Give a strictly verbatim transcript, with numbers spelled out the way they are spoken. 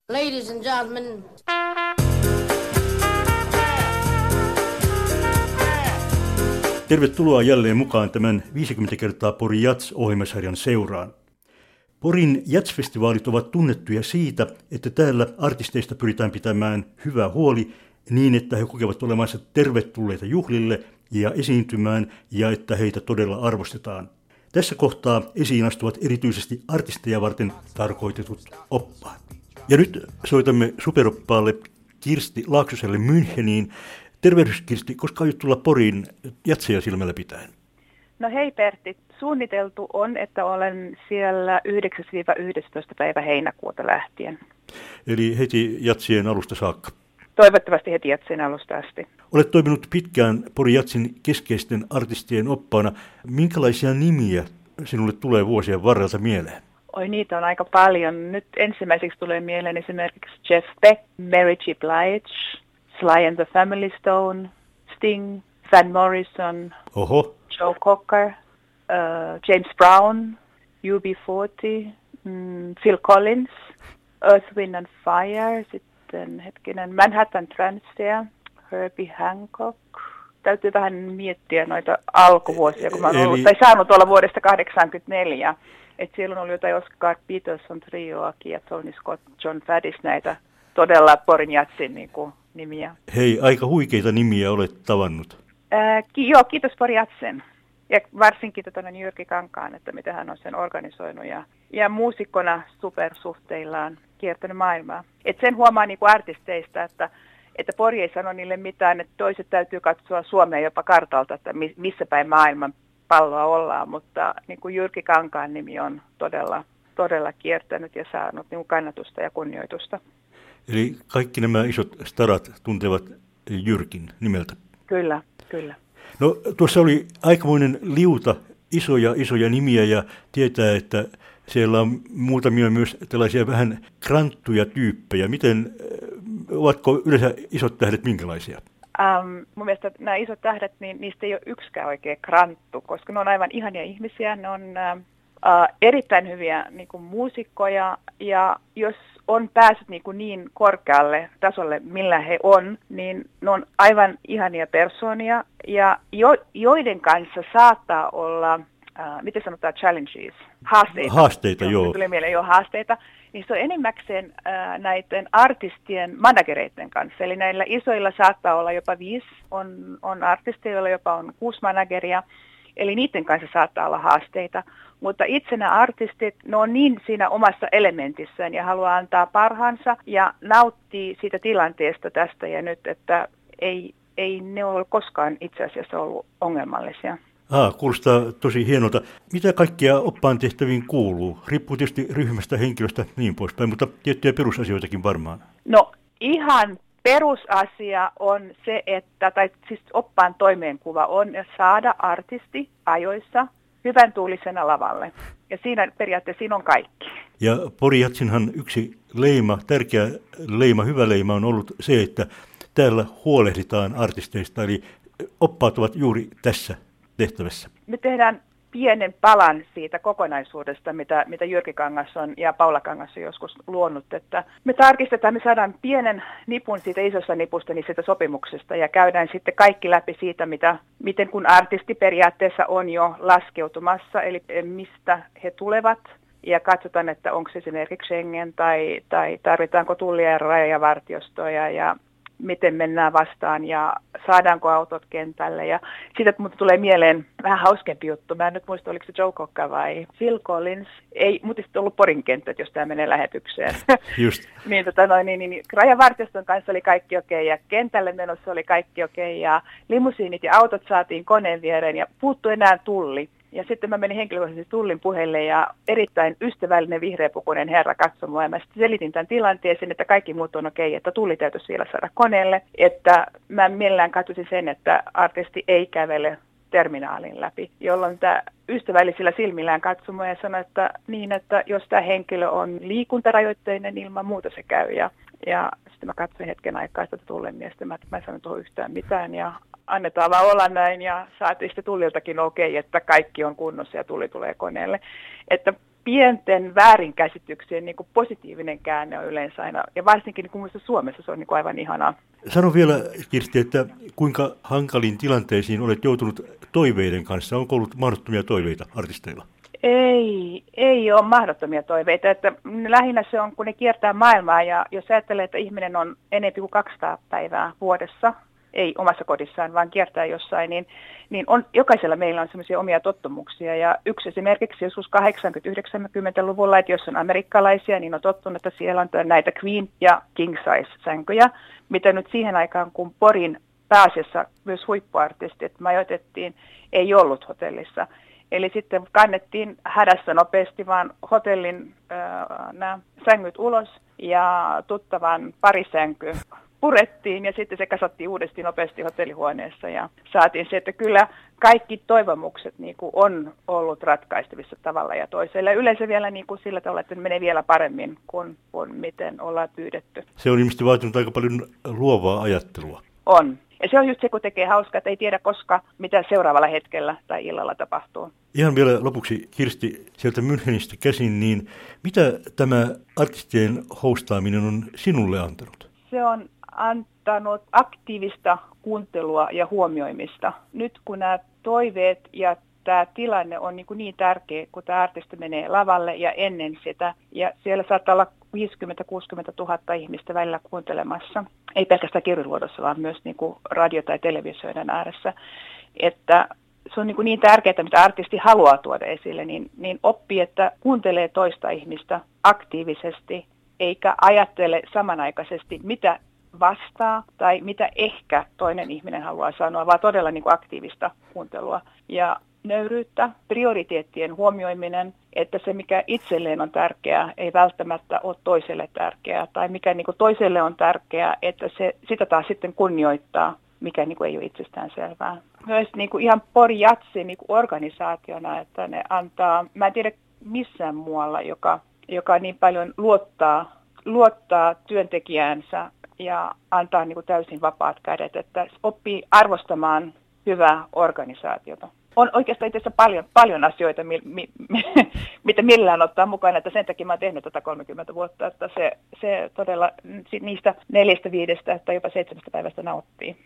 Ladies and gentlemen. Tervetuloa jälleen mukaan tämän viisikymmentä kertaa Pori Jats-ohjelmasarjan seuraan. Porin Jats-festivaalit ovat tunnettuja siitä, että täällä artisteista pyritään pitämään hyvä huoli niin, että he kokevat olevansa tervetulleita juhlille ja esiintymään ja että heitä todella arvostetaan. Tässä kohtaa esiin astuvat erityisesti artisteja varten tarkoitetut oppaat. Ja nyt soitamme superoppaalle Kirsti Laaksoselle Müncheniin. Tervehdys Kirsti, koska aiot tulla Poriin jatseja silmällä pitäen? No hei Pertti, suunniteltu on, että olen siellä yhdeksäs yhdestoista päivä heinäkuuta lähtien. Eli heti jatsien alusta saakka? Toivottavasti heti jatsien alusta asti. Olet toiminut pitkään Pori Jatsin keskeisten artistien oppaana. Minkälaisia nimiä sinulle tulee vuosien varrelta mieleen? Oi, niitä on aika paljon. Nyt ensimmäiseksi tulee mieleen esimerkiksi Jeff Beck, Mary J. Blige, Sly and the Family Stone, Sting, Van Morrison, Oho. Joe Cocker, uh, James Brown, U B neljäkymmentä, mm, Phil Collins, Earth, Wind and Fire, sitten hetkinen Manhattan Transfer, Herbie Hancock. Täytyy vähän miettiä noita alkuvuosia, kun mä oon Eli... ollut, tai saanut olla vuodesta kahdeksankymmentäneljä. Että siellä on ollut jotain Oscar Peterson trioakin ja Tony Scott, John Faddis, näitä todella Porin Jatsin niin kuin, nimiä. Hei, aika huikeita nimiä olet tavannut. Ää, ki- joo, kiitos Pori Jatsen. Ja varsinkin tuota Jyrki Kankaan, että miten hän on sen organisoinut. Ja, ja muusikkona supersuhteillaan kiertänyt maailmaa. Et sen huomaa niin kuin artisteista, että, että Pori ei sano niille mitään, että toiset täytyy katsoa Suomea jopa kartalta, että missä päin maailman palloa ollaan, mutta niin kuin Jyrki Kankaan nimi on todella, todella kiertänyt ja saanut niin kuin kannatusta ja kunnioitusta. Eli kaikki nämä isot starat tuntevat Jyrkin nimeltä? Kyllä, kyllä. No tuossa oli aikamoinen liuta isoja, isoja nimiä ja tietää, että siellä on muutamia myös tällaisia vähän kranttuja tyyppejä. Miten, ovatko yleensä isot tähdet minkälaisia? Um, mun mielestä nämä isot tähdet, niin niistä ei ole yksikään oikein kranttu, koska ne on aivan ihania ihmisiä, ne on uh, uh, erittäin hyviä niin kuin muusikkoja, ja jos on päässyt niin, kuin niin korkealle tasolle, millä he on, niin ne on aivan ihania persoonia, ja jo, joiden kanssa saattaa olla, uh, miten sanotaan, challenges, haasteita. Haasteita, joo. Tuli mieleen jo haasteita. Niin se on enimmäkseen ää, näiden artistien managereiden kanssa. Eli näillä isoilla saattaa olla jopa viisi, on, on artisteja, joilla jopa on kuusi manageria. Eli niiden kanssa saattaa olla haasteita. Mutta itse nämä artistit, ne on niin siinä omassa elementissään ja haluaa antaa parhaansa ja nauttii siitä tilanteesta tästä ja nyt, että ei, ei ne ole koskaan itse asiassa ollut ongelmallisia. Ah, kuulostaa tosi hienolta. Mitä kaikkia oppaan tehtäviin kuuluu? Riippuu tietysti ryhmästä, henkilöstä niin poispäin, mutta tiettyjä perusasioitakin varmaan. No ihan perusasia on se, että, tai siis oppaan toimeenkuva on saada artisti ajoissa hyvän tuulisena lavalle. Ja siinä periaatteessa siinä on kaikki. Ja Pori Jatsinhan yksi leima, tärkeä leima, hyvä leima on ollut se, että täällä huolehditaan artisteista, eli oppaat ovat juuri tässä tehtävässä. Me tehdään pienen palan siitä kokonaisuudesta, mitä, mitä Jyrki Kangas on ja Paula Kangas on joskus luonut, että me tarkistetaan, me saadaan pienen nipun siitä isosta nipusta, niin siitä sopimuksesta ja käydään sitten kaikki läpi siitä, mitä, miten kun artisti periaatteessa on jo laskeutumassa, eli mistä he tulevat ja katsotaan, että onko se esimerkiksi Schengen tai, tai tarvitaanko tullia ja rajavartiostoja ja miten mennään vastaan ja saadaanko autot kentälle. Ja siitä mutta tulee mieleen vähän hauskempi juttu. Mä en nyt muista, oliko se Joe Cocker vai Phil Collins. Ei, mutta sitten ollut Porin kentät, jos tämä menee lähetykseen. Just. niin, tota, no, niin, niin, niin, rajavartioston kanssa oli kaikki okei ja kentälle menossa oli kaikki okei ja limusiinit ja autot saatiin koneen viereen ja puuttui enää tulli. Ja sitten mä menin henkilökohtaisesti tullin puheille ja erittäin ystävällinen vihreäpukuinen herra katsoi mua ja mä sitten selitin tämän tilanteeseen, että kaikki muut on okei, että tulli täytyisi vielä saada koneelle. Että mä mielellään katsoisin sen, että artisti ei kävele terminaalin läpi, jolloin tämä ystävällisillä silmillään katsoi mua ja sanoi, että niin, että jos tämä henkilö on liikuntarajoitteinen, ilman muuta se käy. Ja, ja sitten mä katsoin hetken aikaa sitä tullin miestä, mä, mä en sanonut tuohon yhtään mitään ja annetaan vaan olla näin ja saatiin sitten tulliltakin okei, että kaikki on kunnossa ja tulli tulee koneelle. Että pienten väärinkäsityksien niin kuin positiivinen käänne on yleensä aina, ja varsinkin niin kuin muista Suomessa se on niin kuin aivan ihanaa. Sano vielä, Kirsti, että kuinka hankaliin tilanteisiin olet joutunut toiveiden kanssa? Onko ollut mahdottomia toiveita artisteilla? Ei, ei ole mahdottomia toiveita. Että lähinnä se on, kun ne kiertää maailmaa, ja jos ajattelee, että ihminen on enemmän kuin kaksisataa päivää vuodessa, ei omassa kodissaan, vaan kiertää jossain, niin, niin on, jokaisella meillä on semmoisia omia tottumuksia. Ja yksi esimerkiksi joskus kahdeksankymmentä-yhdeksänkymmentäluvulla, että jos on amerikkalaisia, niin on tottunut, että siellä on näitä queen- ja king-size-sänkyjä, mitä nyt siihen aikaan, kun Porin pääasiassa myös huippuartistit majoitettiin, ei ollut hotellissa. Eli sitten kannettiin hädässä nopeasti vaan hotellin äh, nämä sängyt ulos ja tuttavan parisänky purettiin ja sitten se kasattiin uudesti nopeasti hotellihuoneessa ja saatiin se, että kyllä kaikki toivomukset niin kuin on ollut ratkaistavissa tavalla ja toisella. Yleensä vielä niin kuin sillä tavalla, että menee vielä paremmin kuin, kuin miten ollaan pyydetty. Se on ilmeisesti vaatinut aika paljon luovaa ajattelua. On. Ja se on just se, kun tekee hauskaa, että ei tiedä koska, mitä seuraavalla hetkellä tai illalla tapahtuu. Ihan vielä lopuksi, Kirsti, sieltä Münchenistä käsin, niin mitä tämä artistien hostaaminen on sinulle antanut? Se on antanut aktiivista kuuntelua ja huomioimista. Nyt kun nämä toiveet ja tämä tilanne on niin, kuin niin tärkeä, kun tämä artisti menee lavalle ja ennen sitä. Ja siellä saattaa olla viisikymmentä kuusikymmentä tuhatta ihmistä välillä kuuntelemassa. Ei pelkästään kirjoiluodossa, vaan myös niin kuin radio- tai televisioiden ääressä. Että se on niin, kuin niin tärkeää, mitä artisti haluaa tuoda esille, niin, niin oppii, että kuuntelee toista ihmistä aktiivisesti, eikä ajattele samanaikaisesti, mitä vastaa tai mitä ehkä toinen ihminen haluaa sanoa, vaan todella niin kuin aktiivista kuuntelua ja nöyryyttä, prioriteettien huomioiminen, että se mikä itselleen on tärkeää ei välttämättä ole toiselle tärkeää tai mikä niin kuin toiselle on tärkeää, että se, sitä taas sitten kunnioittaa, mikä niin kuin ei ole itsestään selvää. Myös niin kuin ihan Pori Jatsi niin kuin organisaationa, että ne antaa, mä en tiedä missään muualla, joka, joka niin paljon luottaa, luottaa työntekijäänsä ja antaa niin kuin täysin vapaat kädet, että oppii arvostamaan hyvää organisaatiota. On oikeastaan itse asiassa paljon, paljon asioita, mi, mi, mi, mitä millään ottaa mukana, että sen takia mä oon tehnyt tätä kolmekymmentä vuotta, että se, se todella niistä neljästä, viidestä tai jopa seitsemästä päivästä nauttii.